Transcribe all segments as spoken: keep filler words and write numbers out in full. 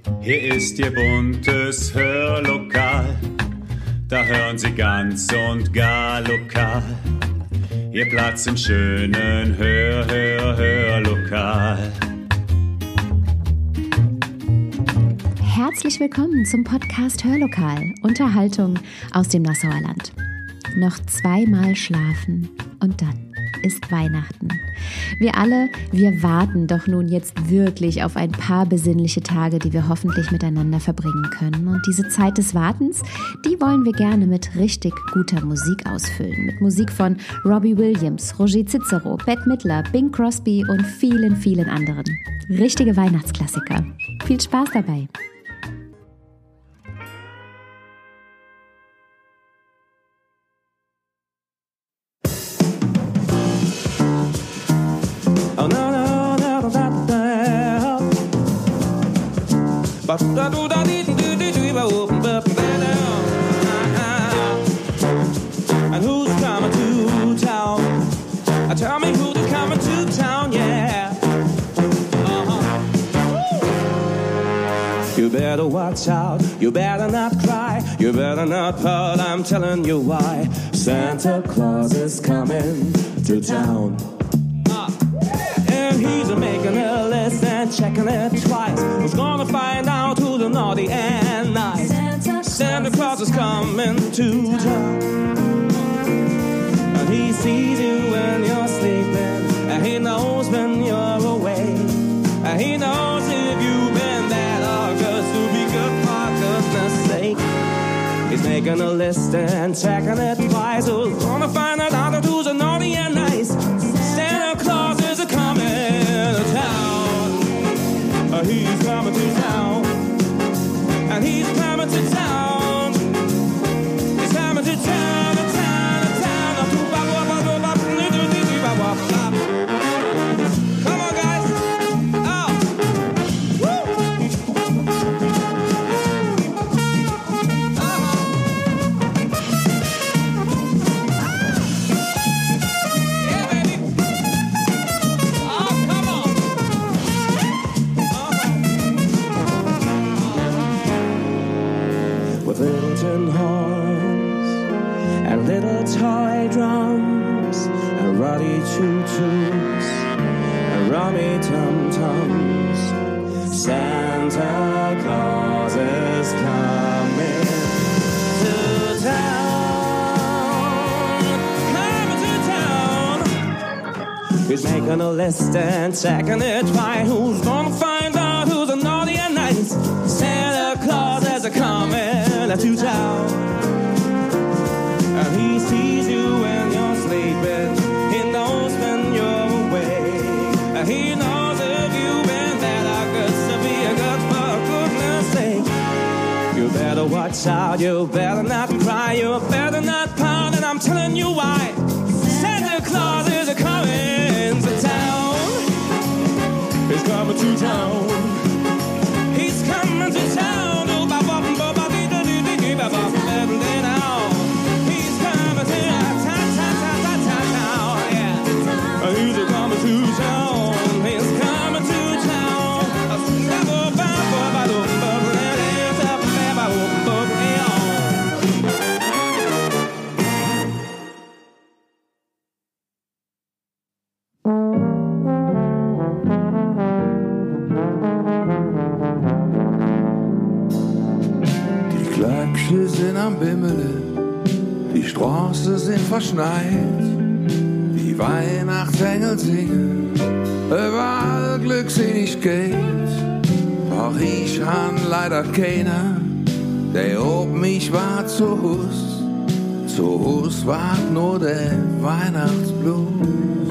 Hier ist Ihr buntes Hörlokal, da hören Sie ganz und gar lokal. Ihr Platz im schönen Hör, Hör, Hörlokal. Herzlich willkommen zum Podcast Hörlokal, Unterhaltung aus dem Nassauer Land. Noch zweimal schlafen und dann ist Weihnachten. Wir alle, wir warten doch nun jetzt wirklich auf ein paar besinnliche Tage, die wir hoffentlich miteinander verbringen können. Und diese Zeit des Wartens, die wollen wir gerne mit richtig guter Musik ausfüllen. Mit Musik von Robbie Williams, Roger Cicero, Bette Midler, Bing Crosby und vielen, vielen anderen. Richtige Weihnachtsklassiker. Viel Spaß dabei! And who's coming to town? Tell me who's coming to town, yeah. Uh-huh. You better watch out, you better not cry, you better not pout, I'm telling you why. Santa Claus is coming to town. And he's making a list and checking it twice. Who's gonna find out who's the naughty and nice? Santa, Santa Claus is coming to town. And he sees you when you're sleeping, and he knows when you're awake, and he knows if you've been bad or good, to be good for goodness sake. He's making a list and checking it twice. Who's gonna find out who's the naughty and nice? Santa Claus is a coming to town. Uh, he's coming to town. And he's coming to town. He's coming to town, to town, to town. Come on, guys. Oh. Woo. Uh-huh. Yeah, baby. Oh, come on. Uh-huh. With little tin horns and little toy drums and ruddy choo-choos and rummy tum-tums, Santa Claus is coming to town, coming to town. He's making a list and checking it twice. Who's gonna find out who's the naughty and nice? Santa Claus is a coming to town. And he sees you when you're sleeping, he knows when you're awake, and he knows if you've been bad or good, to be a good for goodness sake. You better watch out, you better not cry, you better not pout, and I'm telling you why. Santa Claus is a coming to town. He's coming to town. He's coming to town. He's coming to town. He's coming to town. Die Glöckchen sind am Bimmeln, die Straßen sind verschneit. Die Weihnachtsengel singen, überall Glückseligkeit. Doch ich han leider keiner, der ob mich war zu Hus. Zu Hus war nur der Weihnachtsblues.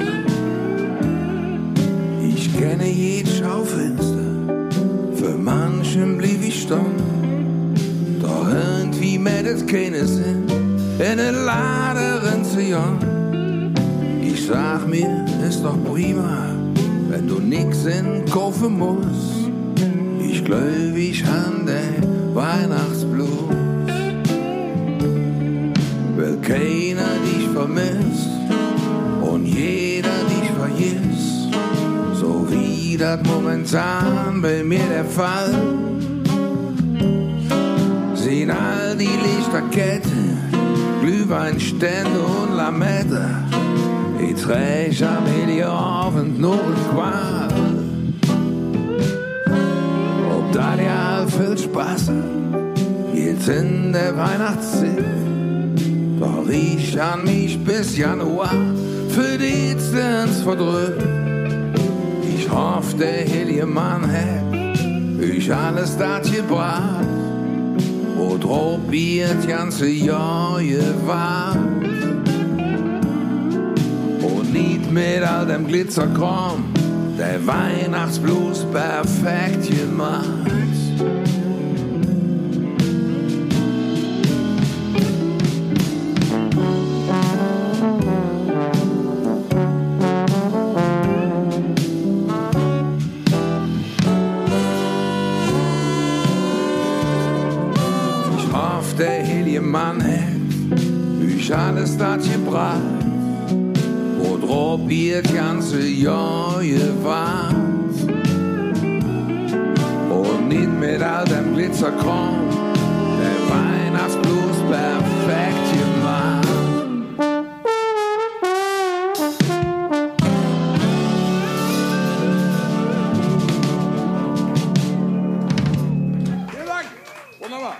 Ich kenne jed Schaufenster, für manchen blieb ich stumm. Doch irgendwie meldet keine Sinn, in den Laden zu jagen. Ich sag mir, ist doch prima, wenn du nix in kaufen musst. Ich glaub, ich han den Weihnachtsblues. Weil keiner dich vermisst und jeder dich vergisst, so wie das momentan bei mir der Fall. sehen all die Lichterketten, Glühweinstände und Lametta. Ich träg am Abend nur Qual. Ob da ja viel Spaß jetzt in der Weihnachtszeit, doch ich an mich bis Januar für die Distanz verdrückt. Ich hoffe, der heilige Mann hat euch alles das gebracht, wo drauf wird ganze Jahr gewahrt. Und nicht mit all dem Glitzerkram, der Weihnachtsblues perfekt gemacht. Der heilige Mann hat euch alles das gebracht, wo drauf wird ganze Jahr gewahrt. Und nicht mit all dem Glitzerkram, der Weihnachtsblues perfekt gemacht. Vielen Dank. Wunderbar.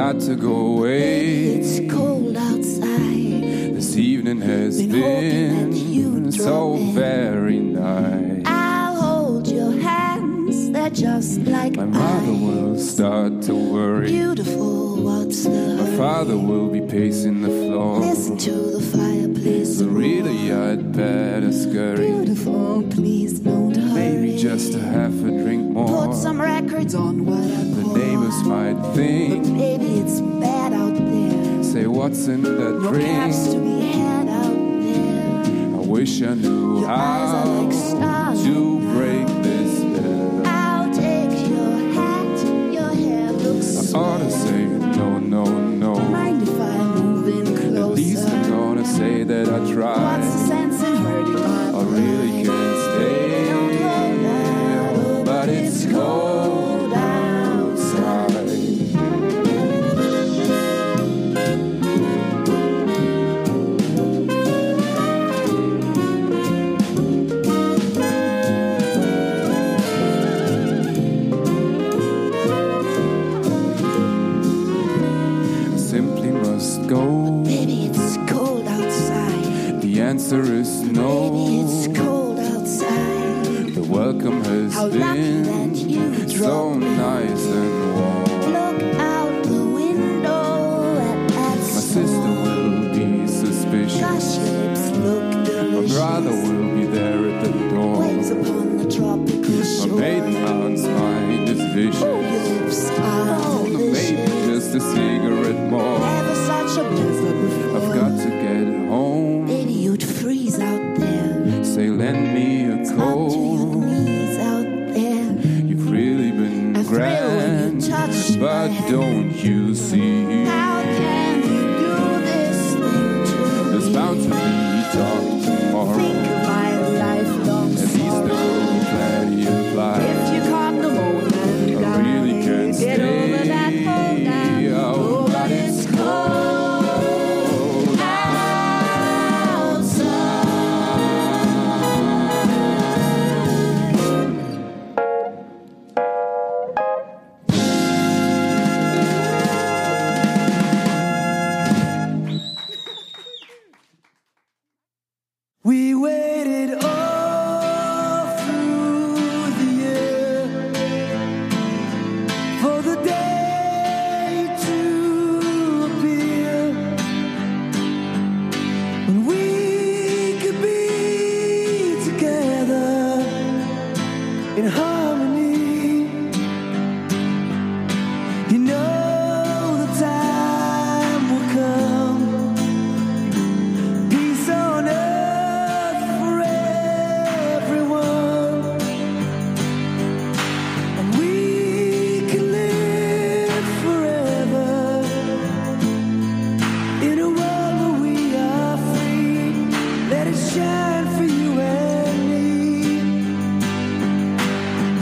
got to go away. It's cold outside. This evening has been, been so very nice. I'll hold your hands, they're just like my mother ice. Will start to worry. Beautiful, what's the My hurry? father will be pacing the floor. Listen to the fireplace. So really I'd better scurry. Beautiful, please don't hurry. Maybe just to have a drink more. Put some records on what I The pour neighbors on. might think, But maybe it's bad out there. say what's in that No drink. cabs to be had out there. I wish I knew Your eyes are how like stars to now. break this spell. I'll take your hat, your hair looks I swell. ought to say no, no, no. Mind if I move in At least I'm closer? gonna say that I What's the tried. sense in hurting my I really pride? can't stay, but it's cold outside. I simply must go. Baby, it's cold outside. The answer is no. Baby, it's cold outside. The welcome has How lucky that been you so drove me. nice and warm. Look out the window at, at My sister will be suspicious. Gosh, your lips look My delicious. brother will be there at the door. Waves upon the tropical My shore. maiden aunt's mind is Your vicious. lips are Oh, maybe delicious. just a cigarette more. Never such a blizzard before. I've got to get home. Baby, you'd freeze out there. Say, lend me a Up to your coat. knees out there. You've really been I thrill when grand, you touch but my hand. don't you see? How can you do this thing to There's me? bound to be talk tomorrow. Think of my lifelong At least there sorrow. will be plenty of life. If you caught pneumonia and you I really died, can't get stay. over that cold down. Oh, but it's cold outside. We waited all through the year for the day to appear when we could be together in harmony. You know the time will come. Peace on earth for everyone, and we can live forever in a world where we are free. Let it shine for you and me.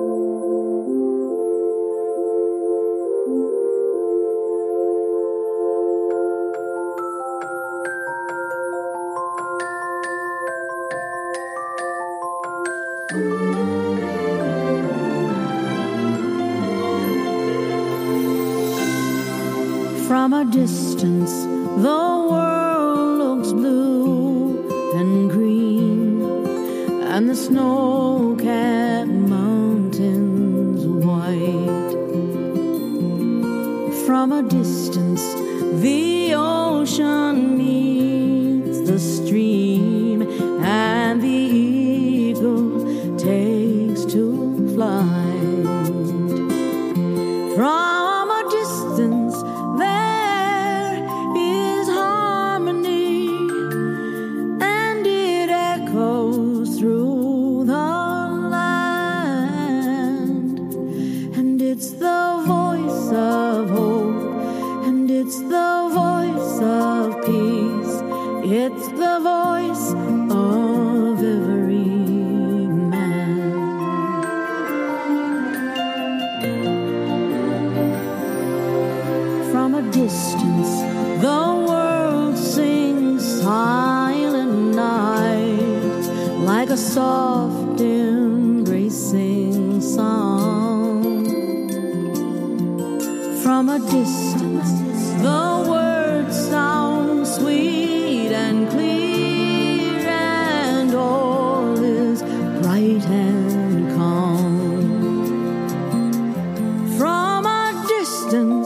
From a distance, the world looks blue and green, and the snow-capped mountains white. From a distance, the ocean meets the stream, and the eagle takes to flight. From a distance, there is harmony, and it echoes through the land. And it's the voice of hope, and it's the voice of peace. It's the voice of every man. From a distance, the world sings silent night, like a soft embracing song. From a distance, the words sound sweet and clear, and all is bright and calm. From a distance,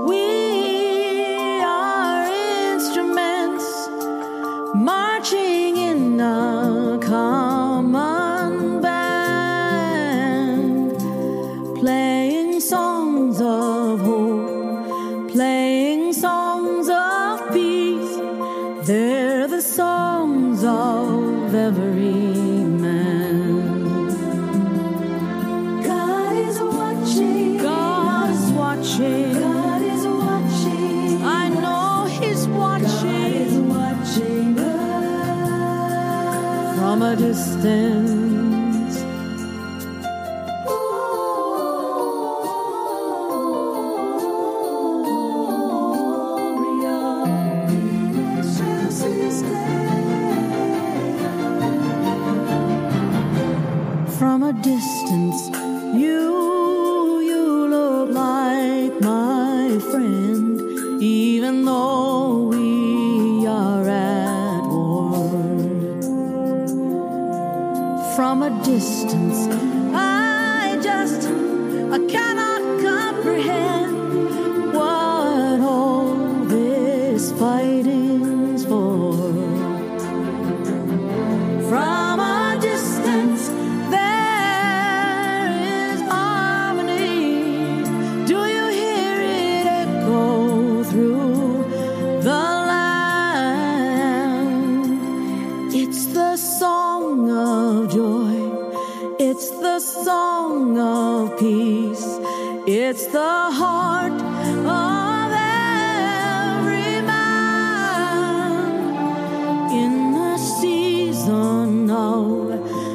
we are instruments marching in a common band, playing songs of hope, playing songs of peace. They're the songs of every man. God is watching. God is watching. God is watching. I know He's watching. God is watching us from a distance. From a distance, you, you look like my friend, even though we are at war. From a distance, I just, I cannot comprehend what all this fighting's for. From a distance, there is harmony. Do you hear it echo through the land? It's the song of joy. It's the song of peace. It's the heart of every man in the season of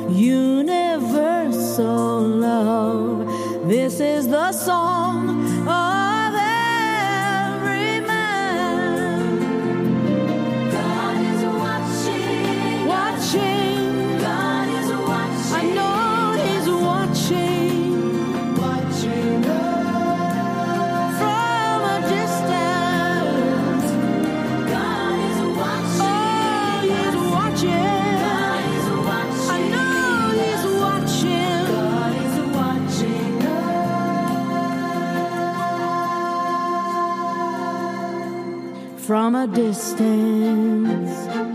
universal love. This is the song of every man. God is watching, watching. God is watching. I know He's watching, watching us from a distance. God is watching. Oh, He's watching. God is watching. I know He's watching. God is watching us from a distance.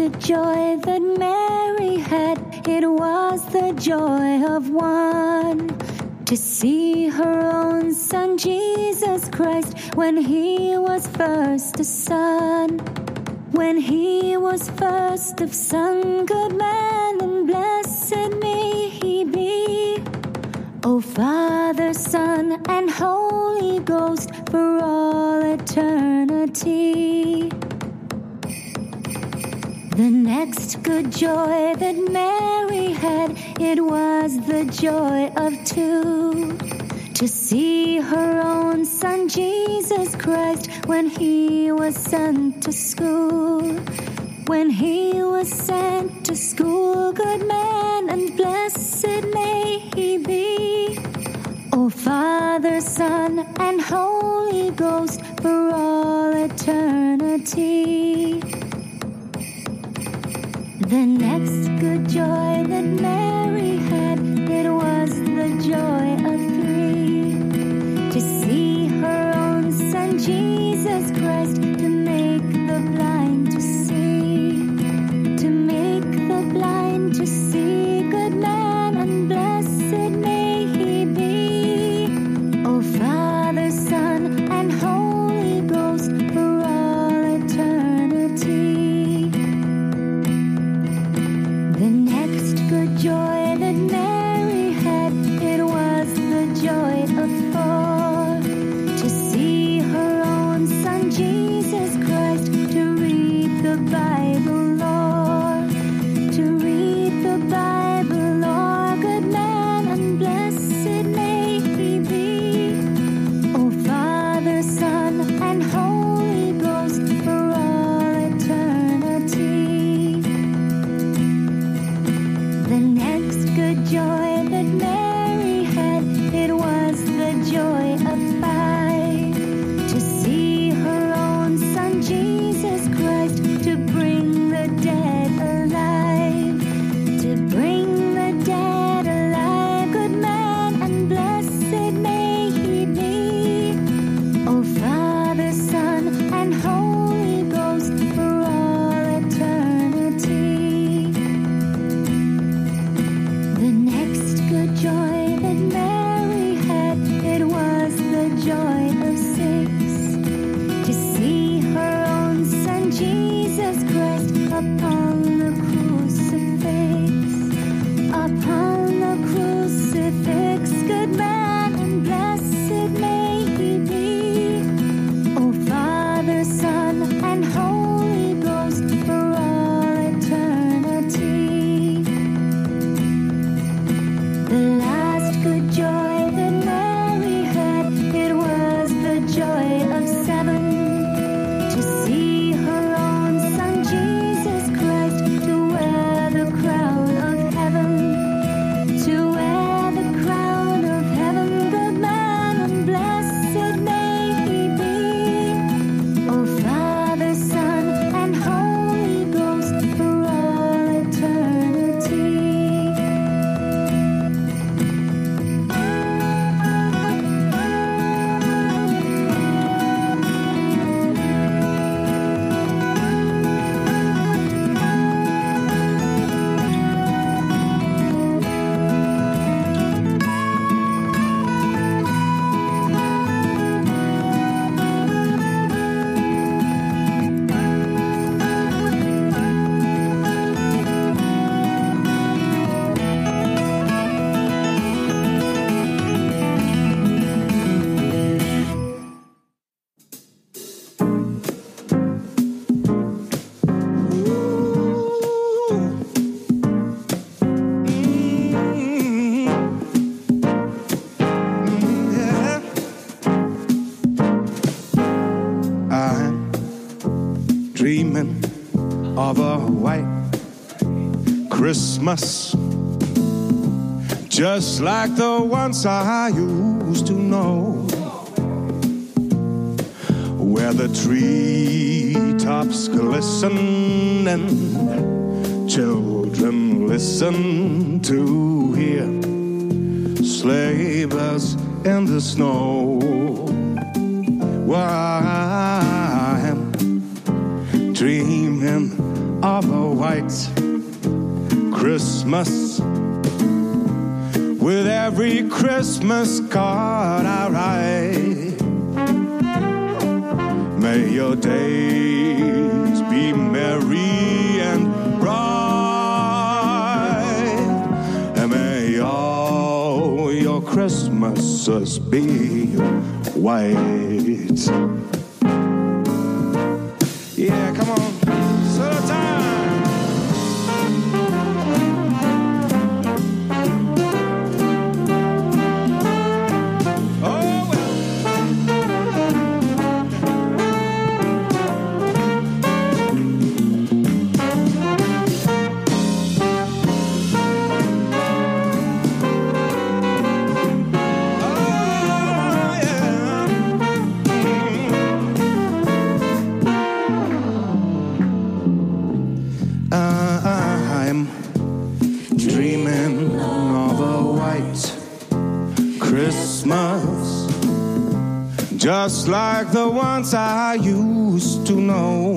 good joy that Mary had, it was the joy of one to see her own son Jesus Christ when he was first a son. When he was first of son, good man, and blessed may he be. O Father, Son, and Holy Ghost, for all eternity. The next good joy that Mary had, it was the joy of two, to see her own son Jesus Christ when he was sent to school. When he was sent to school, good man, and blessed may he be. O Father, Son, and Holy Ghost, for all eternity. The next good joy that Mary had, it was the joy of three, to see her own son Jesus Christ, to make the blind to see, to make the blind to see, good man, and blessed may he be. O Father, Son, and Holy Ghost, for all eternity. The next good joy that Mary had, it was the joy of four, to see her own son Jesus Christ, to read the Bible lore, to read the Bible lore, good man, and blessed may he be. O Father, Son, and Holy Ghost, for all eternity. The next good joy that Mary had, it was the joy of five, to see her own son Jesus Christ, to bring the dead alive, to bring the dead alive, good man, and blessed may he be. O Father, Son, and Holy Ghost, for all eternity. The next good joy that Mary had, it was the joy of six, to see her own son Jesus Christ upon the crucifix, upon the crucifix, good man, and blessed may he be. O Father, Son, and Holy Ghost, for all eternity. The last good joy that Mary had, it was the joy of seven, to see her own son Jesus Christ, to wear the crown of heaven, to wear the crown of heaven, good man, and blessed may he be. O Father, Son, and Holy Ghost, for all eternity. I'm dreaming of a white Christmas, just like the ones I used to know, where the treetops glisten and children listen to hear sleigh bells in the snow. Well, I'm dreaming of a white Christmas. With every Christmas card I write, may your days be merry and bright, and may all your Christmases be white. Yeah, come on, solo time. Just like the ones I used to know,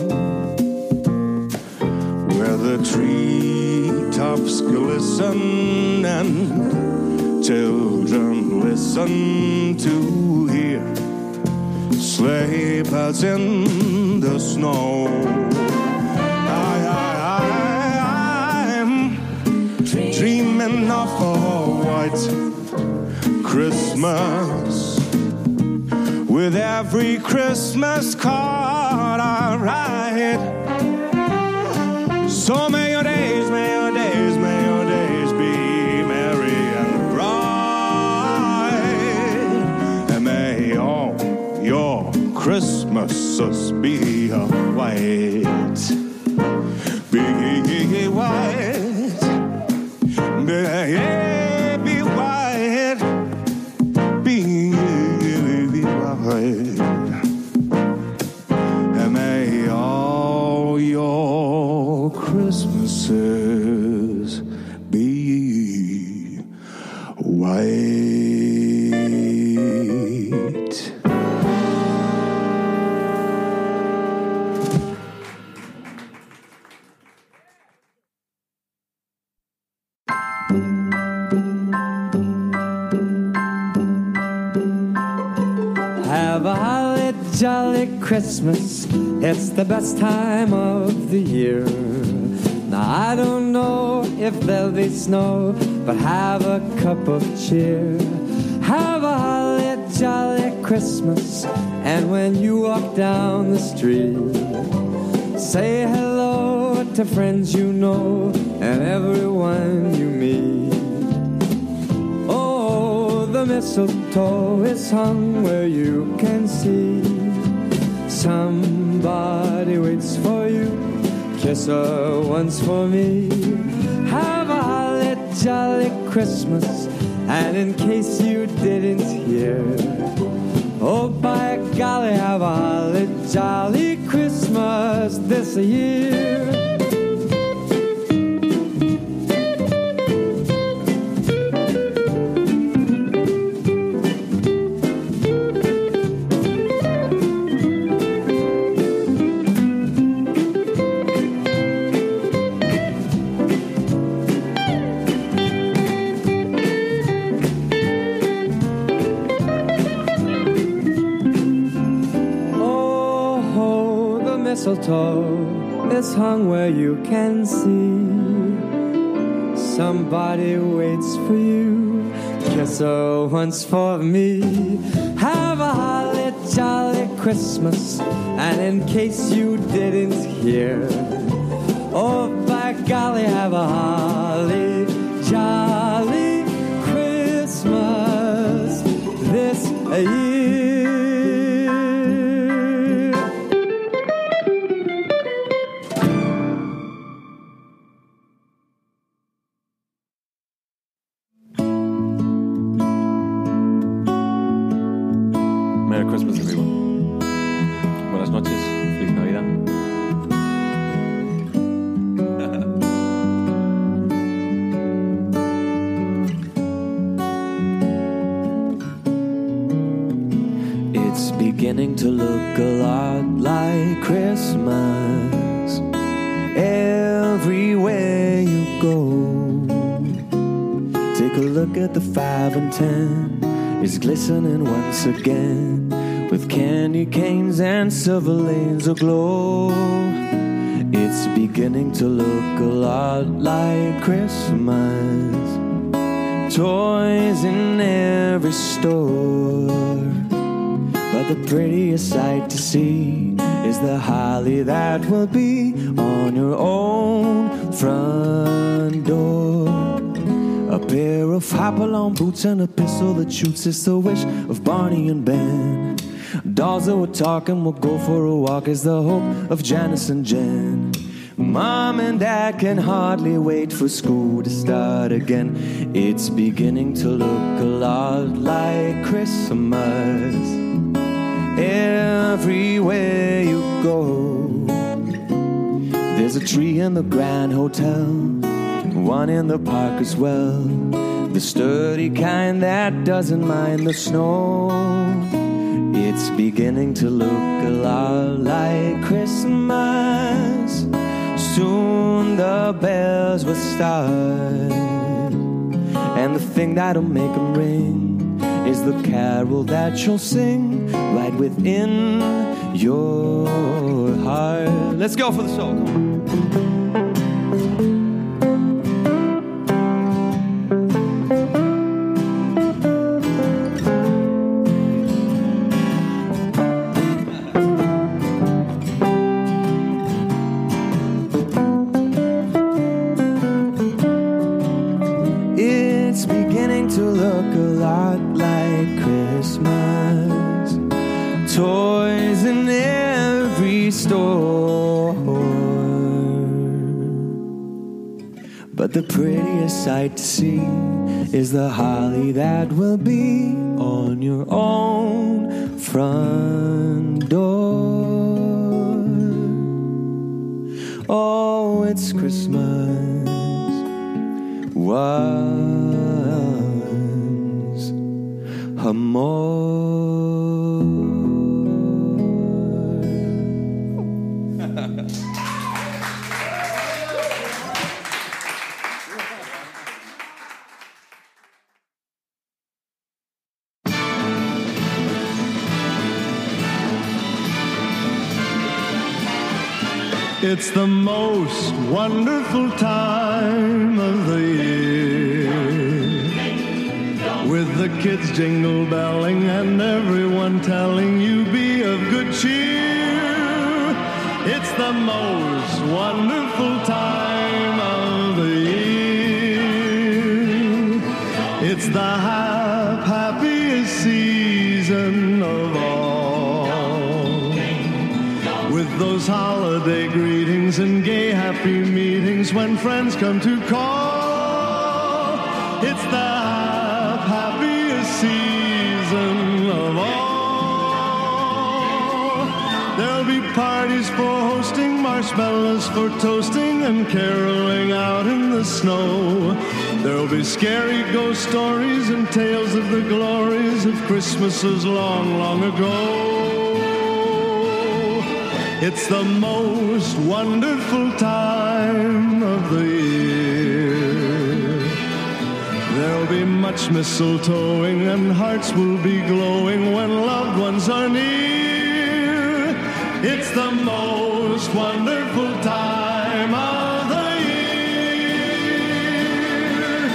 where the treetops glisten and children listen to hear sleigh bells in the snow. I, I, I, I'm dreaming of a white Christmas. With every Christmas card I write, so may your days, may your days, may your days be merry and bright, and may all your Christmases be white, be white, be, be white, be and may all your Christmases be white. Have a holly jolly Christmas, it's the best time of the year. Now I don't know if there'll be snow, but have a cup of cheer. Have a holly jolly Christmas, and when you walk down the street, say hello to friends you know and everyone you meet. The mistletoe is hung where you can see. Somebody waits for you, kiss her once for me. Have a holly jolly Christmas, and in case you didn't hear, oh by golly, have a holly jolly Christmas this year. Mistletoe is hung where you can see. Somebody waits for you, kiss her once for me. Have a holly jolly Christmas, and in case you didn't hear, oh by golly, have a holly jolly Christmas this year. Merry Christmas, everyone. Buenas noches. Feliz Navidad. It's beginning to look a lot like Christmas. go. Take a look at the five and ten. It's glistening once again with candy canes and silver lanes aglow. It's beginning to look a lot like Christmas. Toys in every store, but the prettiest sight to see is the holly that will be on your own front door. A pair of hop-along boots and a pistol that shoots is the wish of Barney and Ben. Dolls that were talking will go for a walk is the hope of Janice and Jen. Mom and Dad can hardly wait for school to start again. It's beginning to look a lot like Christmas everywhere you go. There's a tree in the Grand Hotel, one in the park as well, the sturdy kind that doesn't mind the snow. It's beginning to look a lot like Christmas. Soon the bells will start, and the thing that'll make them ring is the carol that you'll sing right within your heart. Let's go for the soul, come on. Toys in every store, but the prettiest sight to see is the holly that will be on your own front door. Oh, it's Christmas once more. It's the most wonderful time of the year, with the kids jingle belling and everyone telling you be of good cheer. It's the most wonderful time of the year. It's the hap- happiest season of all, with those holiday greetings and gay happy meetings when friends come to call. It's the happiest season of all. There'll be parties for hosting, marshmallows for toasting, and caroling out in the snow. There'll be scary ghost stories and tales of the glories of Christmases long, long ago. It's the most wonderful time of the year. There'll be much mistletoeing and hearts will be glowing when loved ones are near. It's the most wonderful time of the year.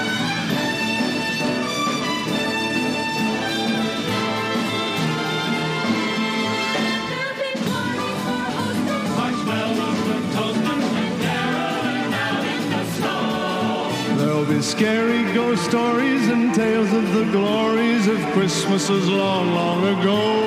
Marshmallows and toasting and caroling out in the snow. There'll be scary ghost stories and tales of the glories of Christmases long, long ago.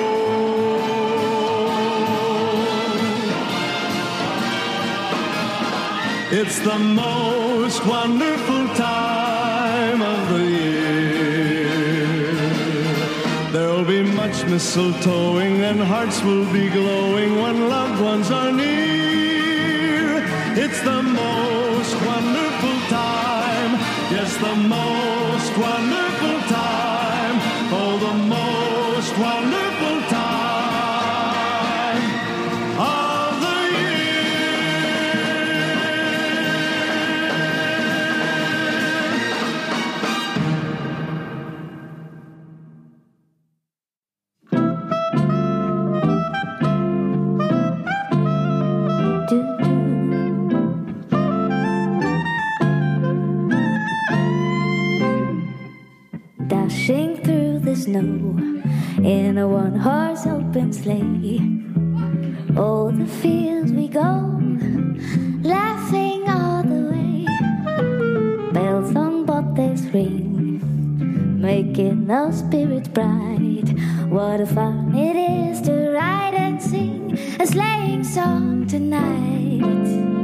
It's the most wonderful time of the year. There'll be much mistletoeing and hearts will be glowing when loved ones are near. It's the most wonderful time. Yes, the most wonderful time. Oh, the most wonderful time of the year. snow in a one-horse open sleigh. All the fields we go, laughing all the way. Bells on bobtails ring, making our spirits bright. What a fun it is to ride and sing a sleighing song tonight.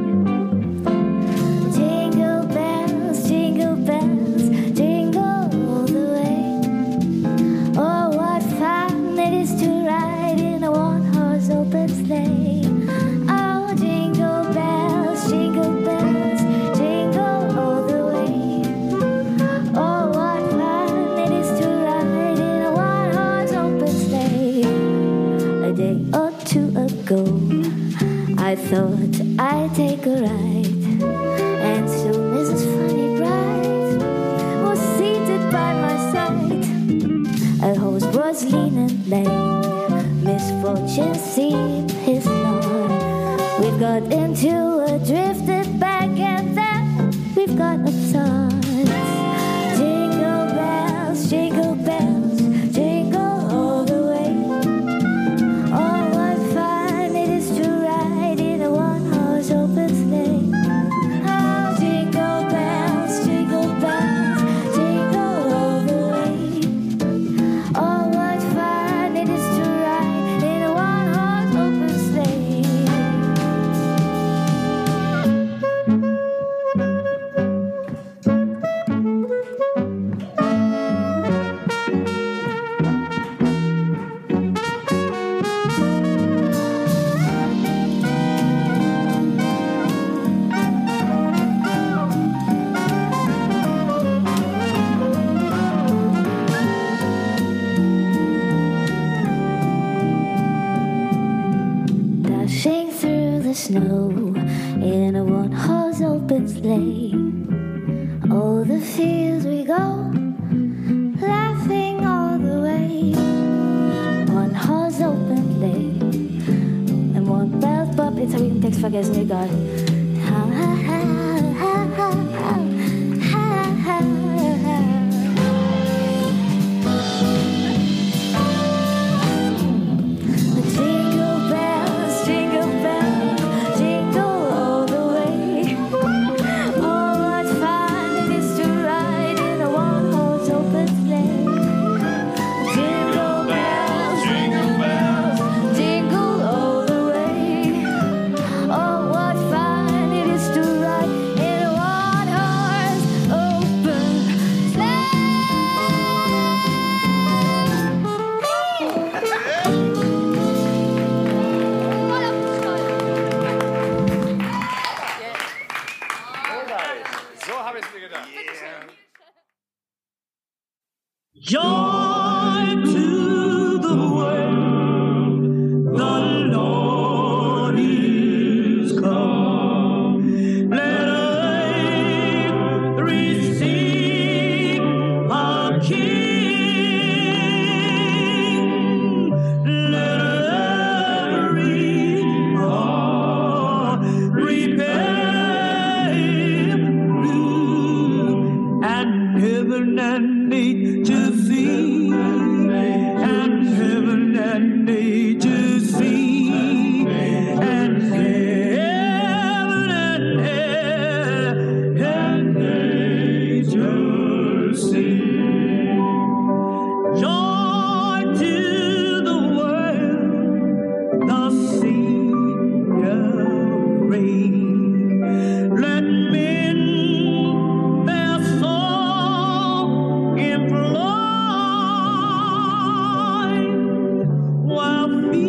Jingle bells, jingle bells, jingle all the way. Oh, what fun it is to ride in a one-horse open sleigh. Oh, jingle bells, jingle bells, jingle all the way. Oh, what fun it is to ride in a one-horse open sleigh. A day or two ago, I thought I'd take a ride, and soon Missus Funny Bright was seated by my side. A horse was lean and lame, misfortune seemed his lot. We've got into a drifted back, and then we've got upset. Jingle bells, jingle bells, jingle all the way. Oh, what fun it is to ride in a one-horse open sleigh. Oh, jingle bells, jingle bells, jingle all the way. Oh, what fun it is to ride in a one-horse open sleigh. Dashing through the snow in a one-horse open sleigh. All the fields we go, laughing all the way. One-horse open sleigh and one bell pop. Jetzt habe ich den Text vergessen, egal. Ha, ha, ha, ha, ha, ha, ha, ha, ha. Jingle bells, jingle bells, jingle all the way. Oh, what fun it is to ride in a one-horse open sleigh. Jingle bells, jingle bells, jingle all the way. Oh, what fun it is to ride in a one-horse open sleigh. So habe ich es mir gedacht. Joy to the world, the Lord is come. Let earth receive our King. Let every heart prepare him new, and heaven and nature sing, and heaven and nature sing, and heaven and air and nature sing. Joy to the world, the Savior reign. Let men their song employ, while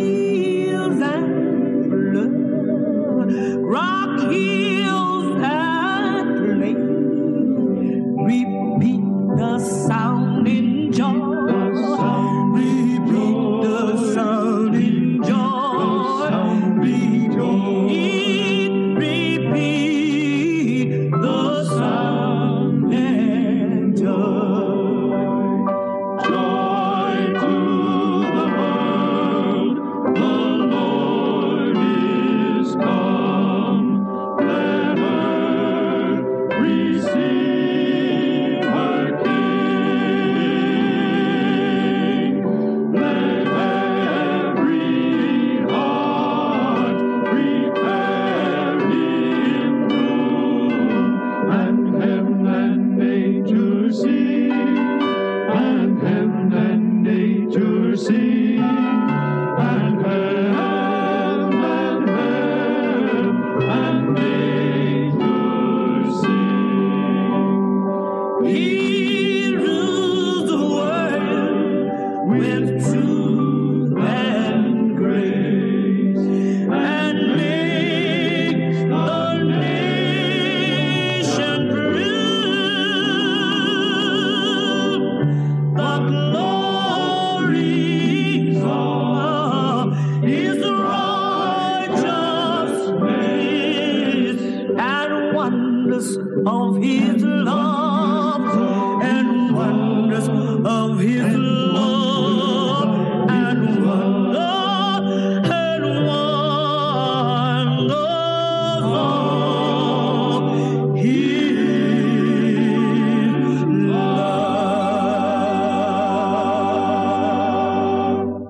He rules the world with truth and grace, and makes the nation prove the glory of His righteous ways, and wonders of His love, and wonders of His love, and wonder, and wonders of His love.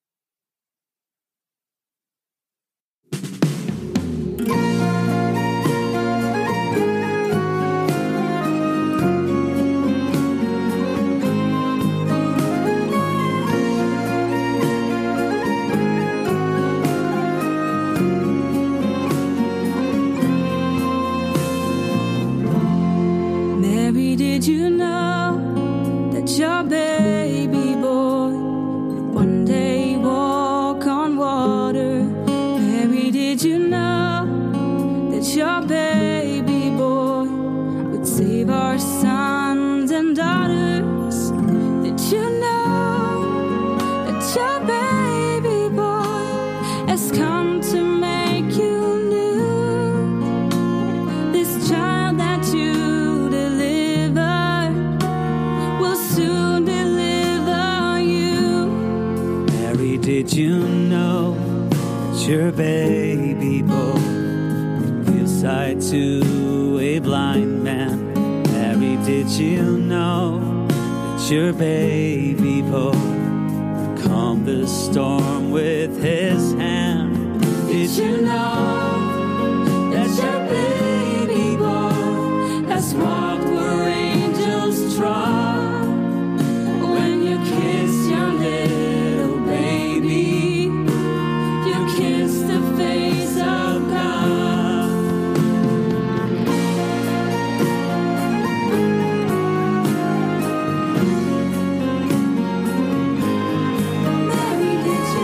Mary, did you know that your baby boy would one day walk on water? Mary, did you know that your baby boy would save our sons and daughters? Did you know that your baby boy has come to make you new? This child that you delivered will soon deliver you. Mary, did you know that your baby boy gives sight to a blind man? Mary, did you know that your baby boy calmed the storm with his hand? Did you know that your baby boy has walked where angels trod? When you kiss your little baby, you kiss the face of God. Mary, did you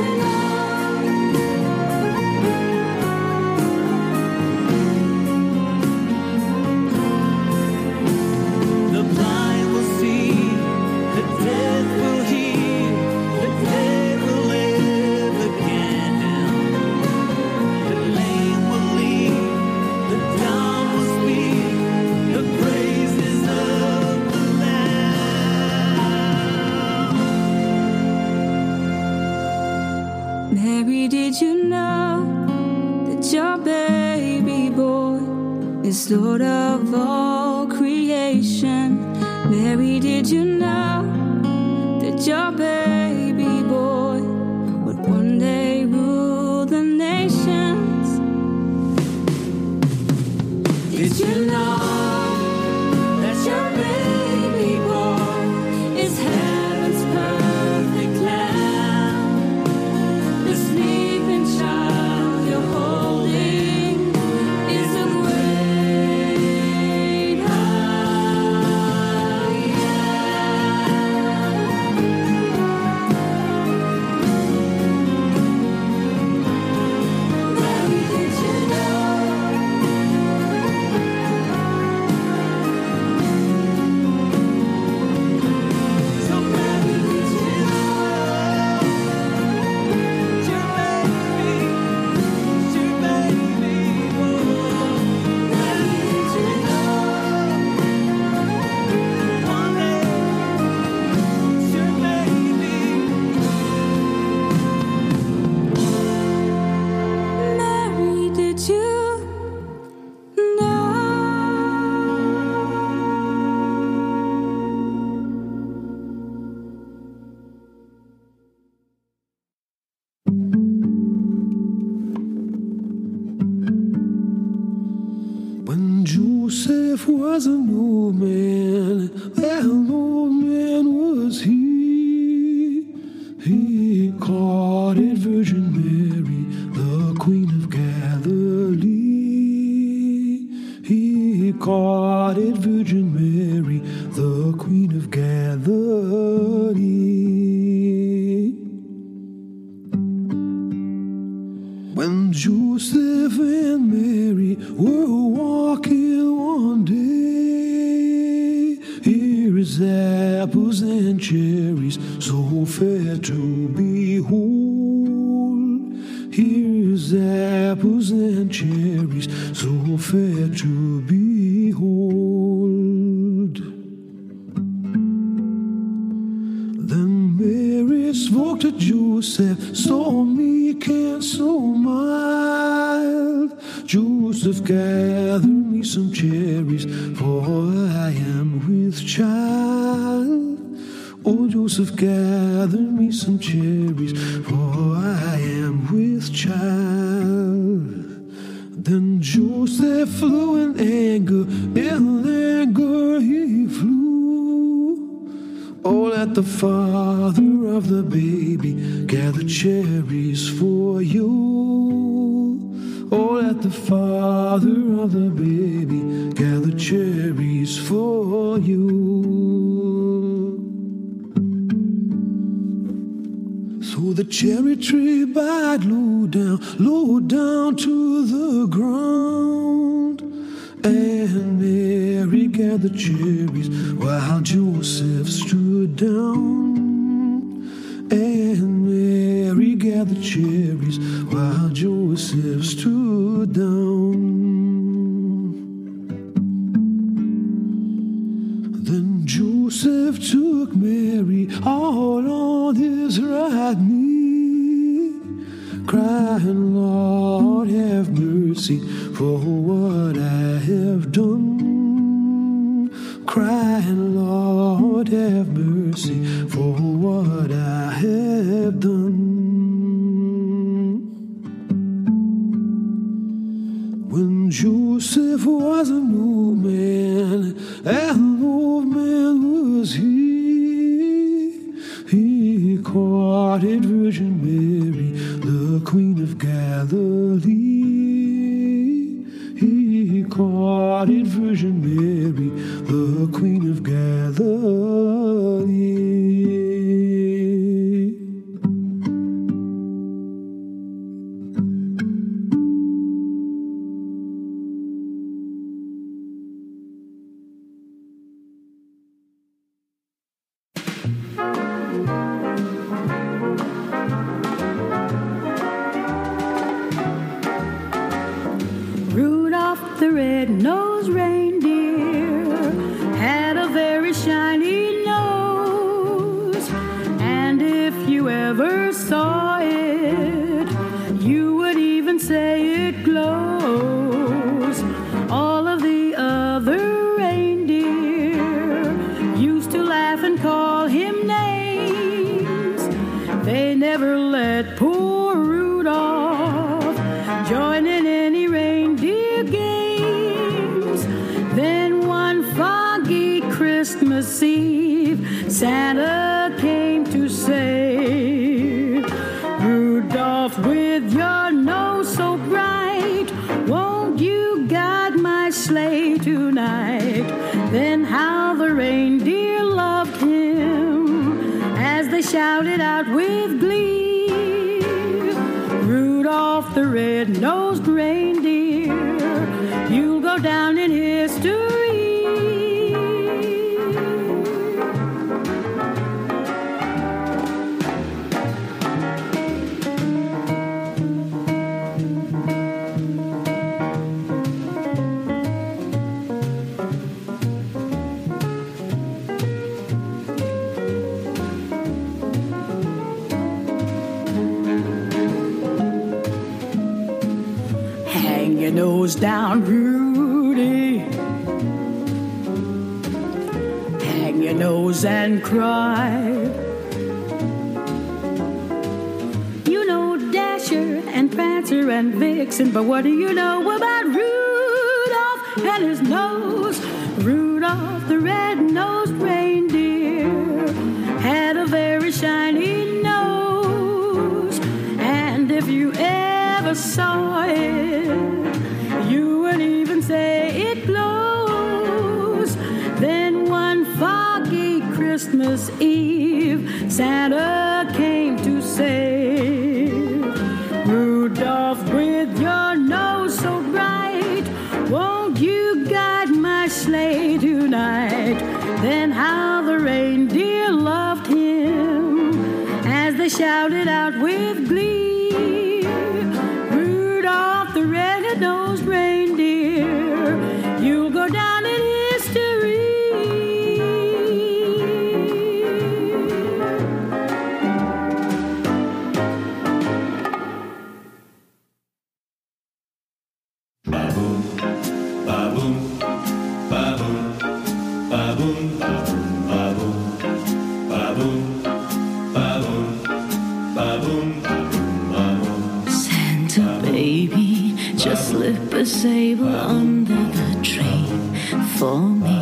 The blind will see, the dead will hear, the dead will live again. The lame will lead, the dumb will speak, the praises of the Lamb. Mary, did you know that your baby boy is Lord of all creation? Mary, did you know that your baby boy would one day rule the nations? Did you know that your baby boy is heaven's perfect lamb? The sleeping child you're holding is a great I am. Mary, did you know? So Mary, did you know? Your baby, your baby boy. Mary, did you know? One day, your baby. Mary, did you know? When Joseph was an old man, an old man was he. He courted Virgin Mary, the Queen of Galilee. He courted Virgin Mary, Mary, the Queen of Galilee. When Joseph and Mary were walking one day, here is apples and cherries, so fair to behold. Here's apples and cherries, so fair to behold. Then Mary spoke to Joseph, so meek and so mild. Joseph, gather me some cherries, for I am with child. Oh, Joseph, gather me some cherries, for I am with child. Then Joseph flew in anger, in anger he flew. Oh, let the father of the baby gather cherries for you. Oh, let the father of the baby gather cherries for you. So the cherry tree bowed low down, low down to the ground. And Mary gathered cherries while Joseph stood down. And Mary gathered cherries while Joseph stood down. Then Joseph took Mary all on his right knee, crying, Lord, have mercy for what I have done. Crying, Lord, have mercy for what I have done. When Joseph was an old man, and old man was he, he courted Virgin Mary, the Queen of Galilee. He courted Virgin Mary, the Queen of Galilee. Rudolph the red-nosed reindeer had a very shiny nose, and if you ever saw it, you would even say it glows. All of the other reindeer used to laugh and call him names. They never let poor Rudolph join in any reindeer games. Then one foggy Christmas Eve, Santa came to say, Rudolph, with your nose so bright, won't you guide my sleigh tonight? Then how the reindeer loved him as they shouted out with glee, Rudolph the red-nosed reindeer, you'll go down in history. Hang your nose down, Rudy. Hang your nose and cry. You know Dasher and Prancer and Vixen, but what do you know about Rudolph and his nose? Rudolph the red-nosed reindeer had a very shiny nose, and if you ever saw it, you would even say it glows. Then one Christmas Eve, Santa came to say, Rudolph, with your nose so bright, won't you guide my sleigh tonight? Then how the reindeer loved him as they shouted out with glee, Rudolph the red-nosed reindeer, you'll go down in history. Ba-boom, ba-boom, ba-boom, ba-boom, ba-boom, ba-boom, ba-boom, ba-boom, ba-boom. Santa baby, just slip a sable under the tree for me.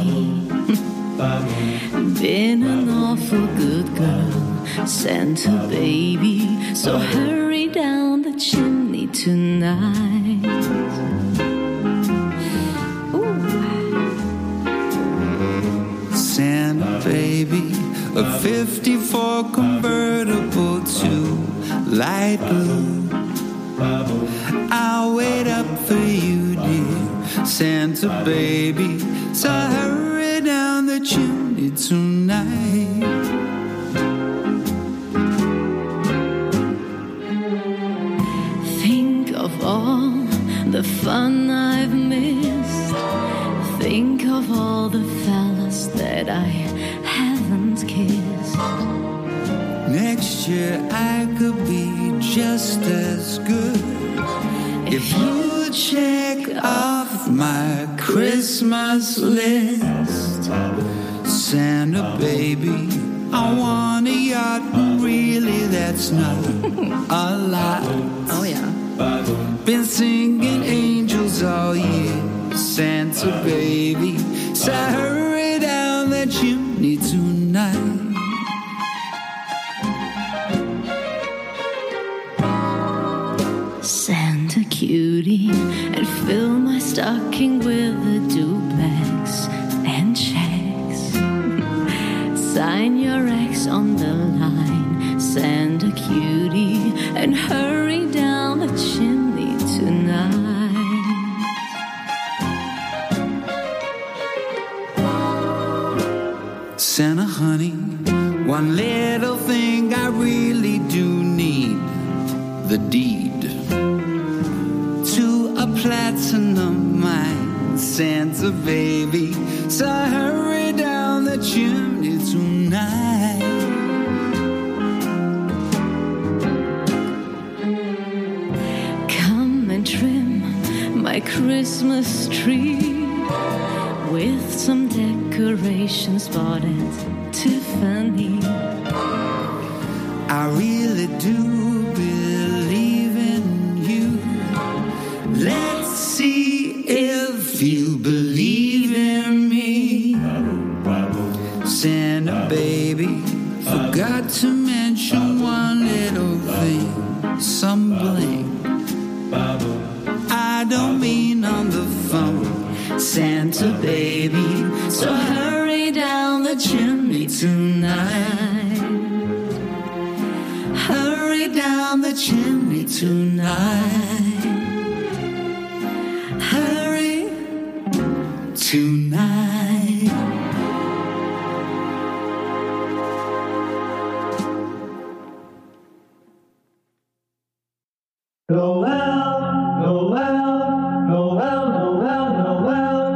Been an awful good girl, Santa baby, so hurry down the chimney tonight. Santa baby, a fifty-four convertible to light blue. I'll wait up for you, dear Santa baby, so hurry down the chimney tonight. Think of all the fun I've missed. Think of all the fellas that I haven't kissed. Next year I could be just as good if you check off my Christmas list. Santa baby, I want a yacht, really that's not a lot. Oh yeah. Been singing angels all year, Santa baby, so hurry down that chimney tonight. Santa cutie, and fill my stocking with a duplex and checks. Sign your ex on the line, Santa cutie, and hurry down the chimney tonight. Santa honey, one little thing I really do need, the deed to a platinum mine, Santa baby, so hurry down the chimney tonight. Come and trim my Christmas tree with some decorations bought at Tiffany. I really do believe in you. Let's see if you believe in me. Santa baby, forgot to mention one little thing, some bling. I don't mean on the phone, Santa baby, so hurry down the chimney tonight. Hurry down the chimney tonight. Hurry tonight. Noel, Noel, Noel, Noel, Noel.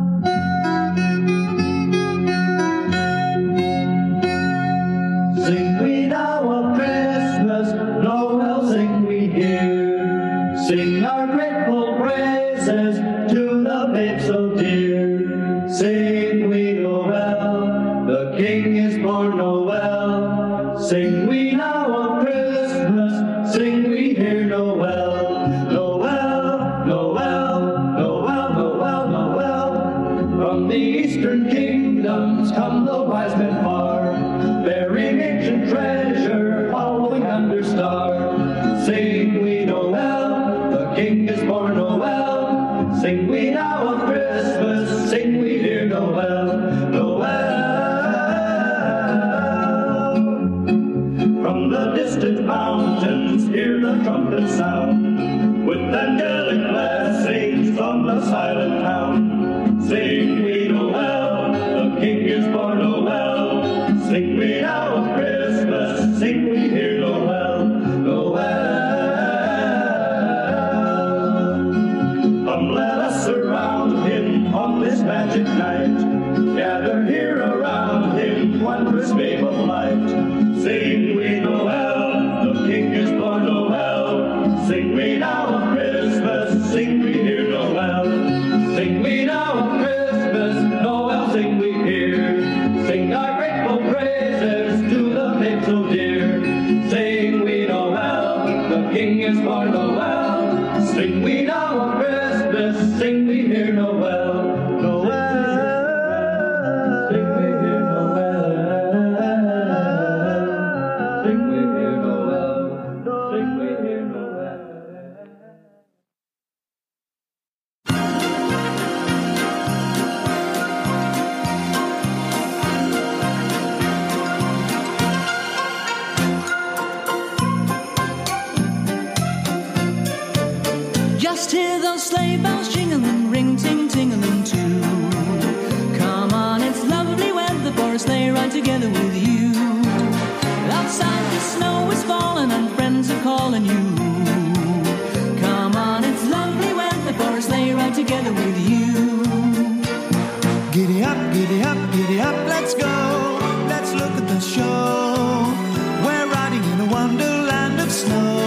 Sing we now of Christmas, Noel, sing we here. Sing our grateful praises to the babe so dear. Sing we Noel, the King is born Noel. Sing we now of Christmas, sing we here Noel. Noel, Noel, Noel, Noel, Noel. From the eastern kingdoms come the wise men far, bearing ancient treasure, following under star. Sing we Noel, the King is born Noel. Sing we now of Christmas, sing we here Noel. Noel. King is born, Noel. Sing we now of Christmas, sing we hear Noel, Noel. Come let us surround him on this magic night, gather here around him, wondrous babe of light. Sing we Noel, the King is born, Noel. Sing we now of Christmas, sing we hear Noel. Sing we now of Christmas, Noel, sing we hear. Sing our grateful praises to the babe so dear. Sing we Noel, the King is born, Noel. Sing we now of Christmas, sing we hear Noel, Noel. Sing we hear Noel, sing we hear Noel, sing we hear Noel. Just hear those sleigh bells jingling, ring, ting, tingling too. Come on, it's lovely weather for a sleigh ride together with you. Outside the snow is falling and friends are calling you. Come on, it's lovely weather for a sleigh ride together with you. Giddy up, giddy up, giddy up, let's go. Let's look at the show. We're riding in a wonderland of snow.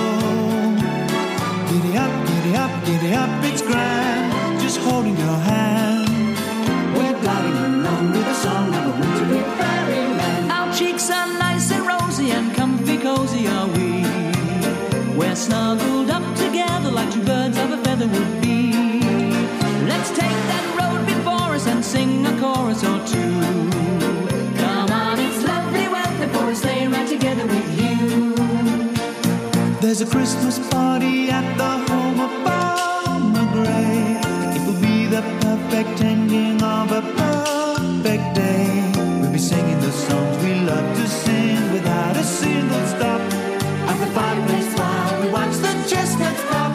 Giddy up, giddy up, giddy up, it's grand. Just holding your hand. We're gliding along with a song of a wintry fairyland. Our cheeks are nice and rosy and comfy cozy are we. We're snuggled up together like two birds of a feather would be. Let's take that road before us and sing a chorus or two. Come on, it's lovely weather for a sleigh ride together with you. There's a Christmas party at the home of Farmer Gray. It will be the perfect ending of a perfect day. We'll be singing the songs we love to sing without a single stop. At the fireplace while we watch the chestnuts pop.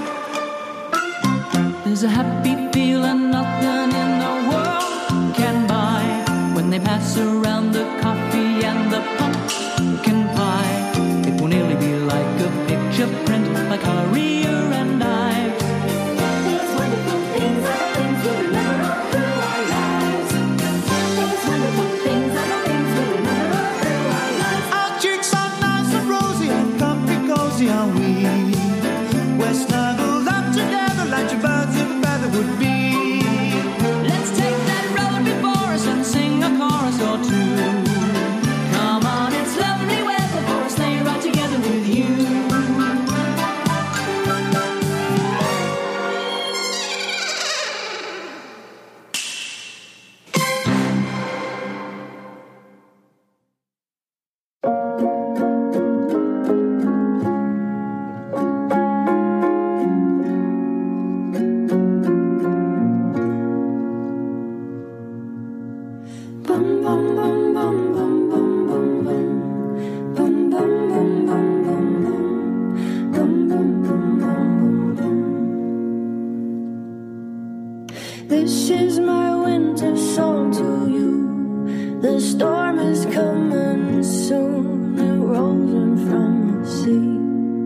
There's a happy feeling nothing in the world can buy when they pass around the coffee and the pumpkin pie. It will nearly be like a picture print by Currier and Ives. These wonderful things are the things we remember all through our lives. These wonderful things are the things we remember all through our lives. Our cheeks are nice and rosy and comfy cozy are we. We're snuggled up together like two birds of a feather would be. Let's take that road before us and sing a chorus or two. Come on, it's lovely weather for a sleigh ride together with you. Bum bum bum bum bum bum bum bum. Bum bum bum bum bum bum. Bum bum bum bum bum bum. This is my winter song to you. The storm is coming soon. It rolls in from the sea.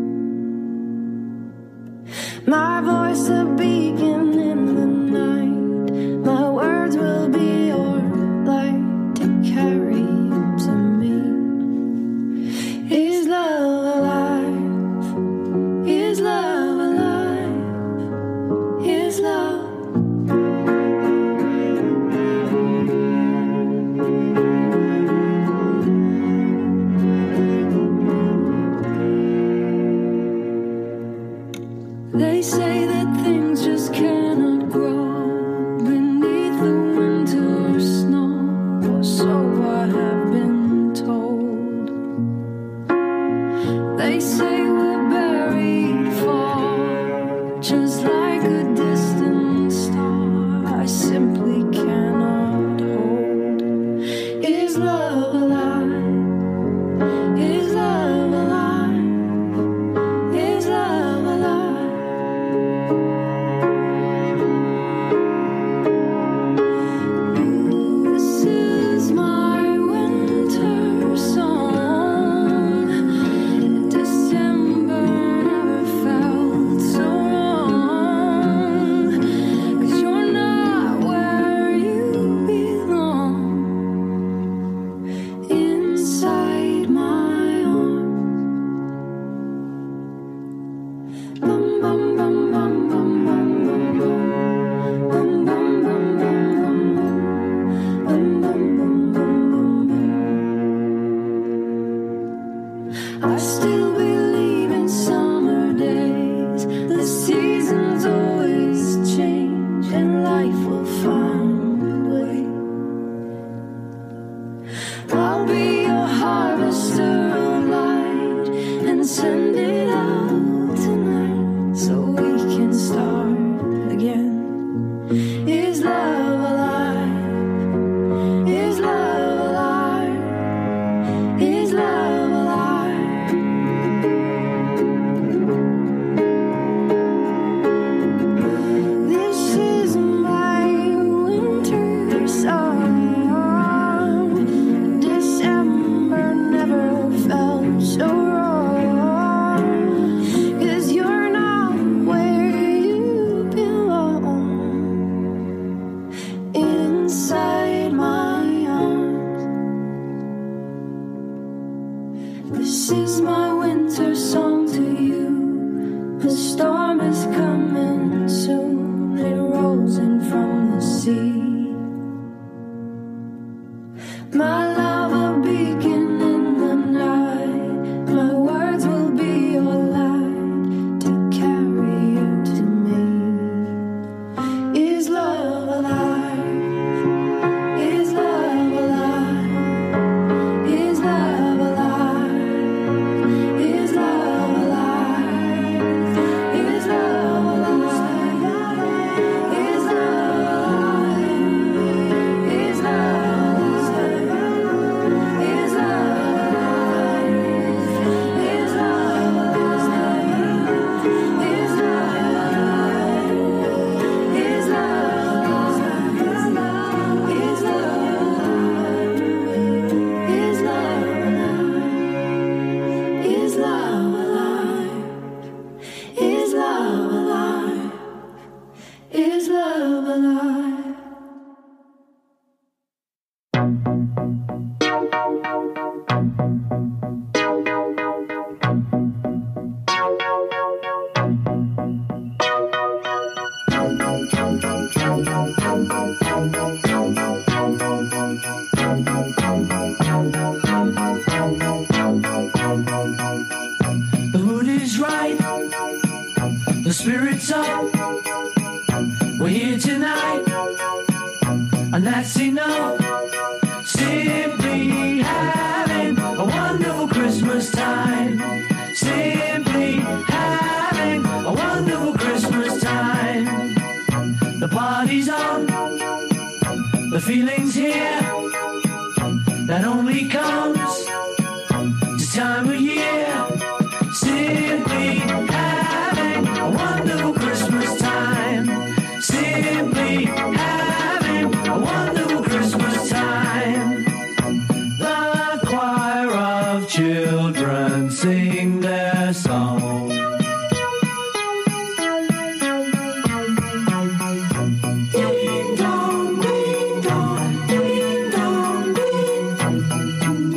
My voice a beacon in the night. My words will be your light to carry you to me. Is love alive? Is love alive? Is love? They say that things just cannot grow beneath the winter snow, or so I have been told. They say we're buried far, just like a distant star. I simply cannot hold. Is love alive? Is love alive? Is love alive? This is I'll be your harvester of light and send it out tonight so we can start again. Is love alive? Is love alive? Is love alive? This is my winter song. December never felt so wrong. 'Cause you're not where you belong. Inside my arms. This is my winter song to you. The storm is coming soon. It rolls in from the sea. My love, a beacon in the night. My words will be your light to carry you to me. Is love alive? Is love alive? Is love alive? Is love alive? Is love alive? Is love alive? Is love alive? The mood is right, the spirit's up. We're here tonight, and that's enough. Simply having a wonderful Christmas time. Simply having a wonderful Christmas time. The party's on, the feeling's here. That only comes this time of year. Simply having a wonderful Christmas time. Simply having a wonderful Christmas time. The choir of children sing their song. Ding dong, ding dong, ding dong, ding.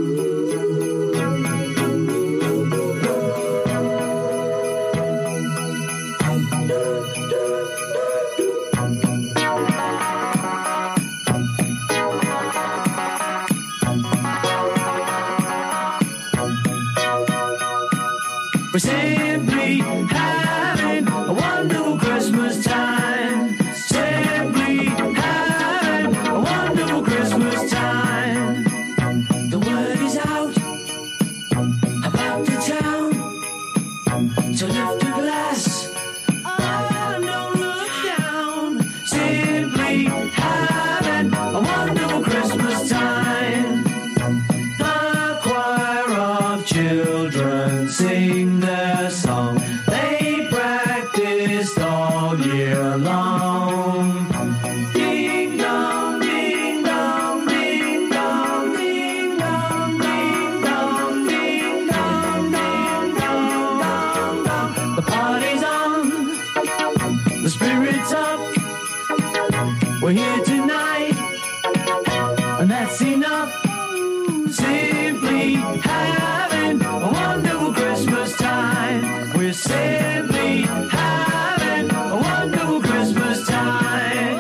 We're simply having a wonderful Christmas time. Simply having a wonderful Christmas time. The word is out about the town, so lift a glass. Oh, don't look down. Simply having a wonderful Christmas time. The choir of children sing their song. They practiced all year long. Ding dong, ding dong, ding dong, ding dong, ding dong, ding dong, ding dong, dong, dong. The party's on, the spirit's up. We're here tonight, and that's enough. Simply having a wonderful Christmas time. We're simply having a wonderful Christmas time.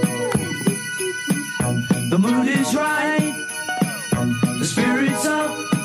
The mood is right, the spirit's up.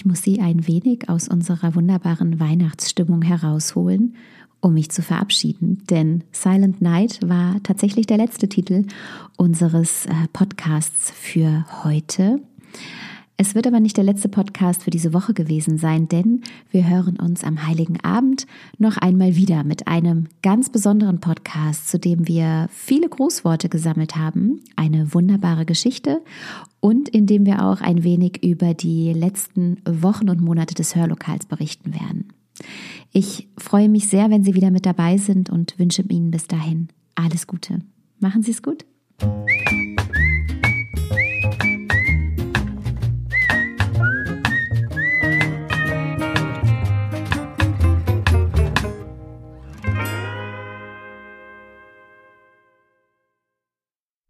ich muss Sie ein wenig aus unserer wunderbaren Weihnachtsstimmung herausholen, um mich zu verabschieden. Denn Silent Night war tatsächlich der letzte Titel unseres äh, Podcasts für heute. Es wird aber nicht der letzte Podcast für diese Woche gewesen sein, denn wir hören uns am Heiligen Abend noch einmal wieder mit einem ganz besonderen Podcast, zu dem wir viele Grußworte gesammelt haben, eine wunderbare Geschichte und in dem wir auch ein wenig über die letzten Wochen und Monate des Hörlokals berichten werden. Ich freue mich sehr, wenn Sie wieder mit dabei sind und wünsche Ihnen bis dahin alles Gute. Machen Sie es gut.